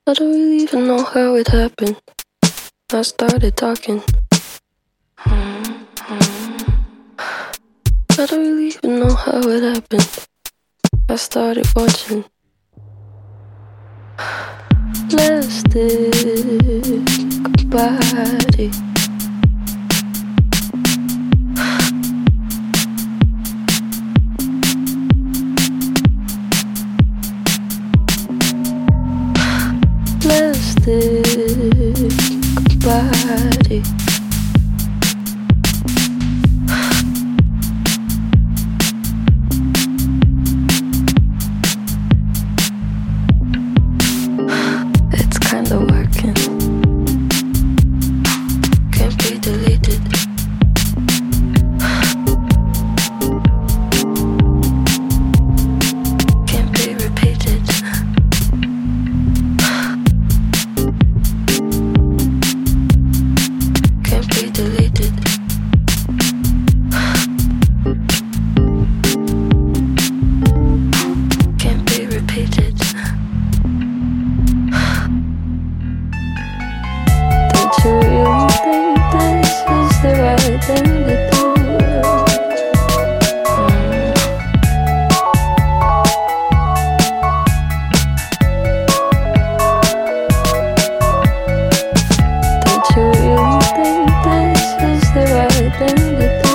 I don't really even know how it happened. I started talking. I don't really even know how it happened. I started watching plastic body. Plastic body. It's kinda working. Can't be deleted. Can't be repeated. Can't be deleted. Can't be repeated. Don't you really think this is the right thing to do? Don't you really think this is the right thing to do?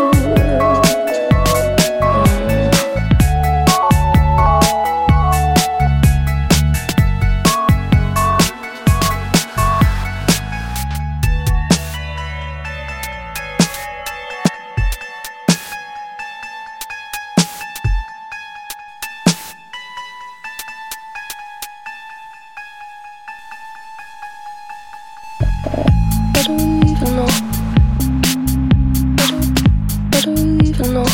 I don't even know. I don't even know.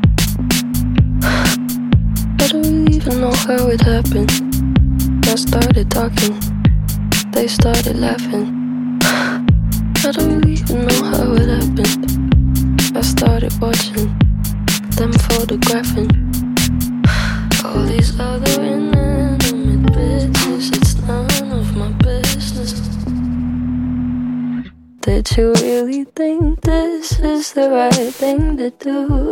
I don't even know how it happened. I started talking. They started laughing. I don't even know how it happened. I started watching them photographing all these other inanimate bitches. It's none of my business. Did you really think this is the right thing to do?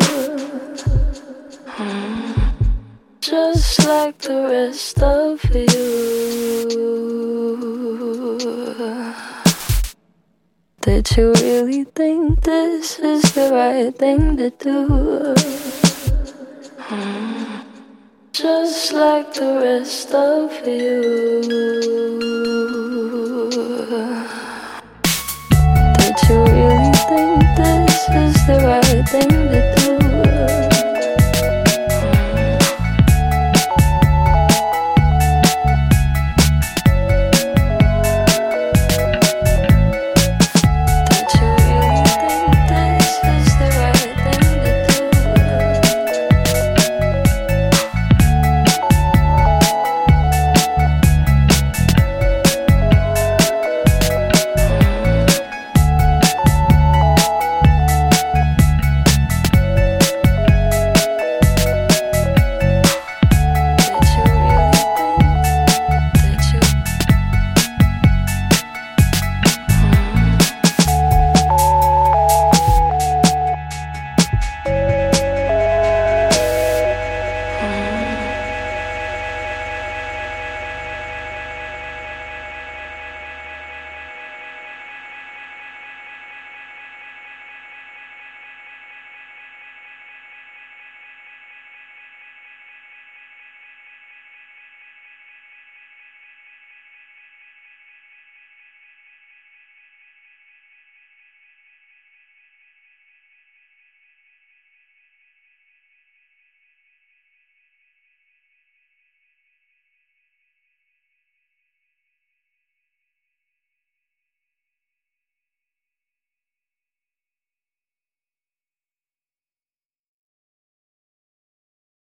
Just like the rest of you. Did you really think this is the right thing to do? Just like the rest of you.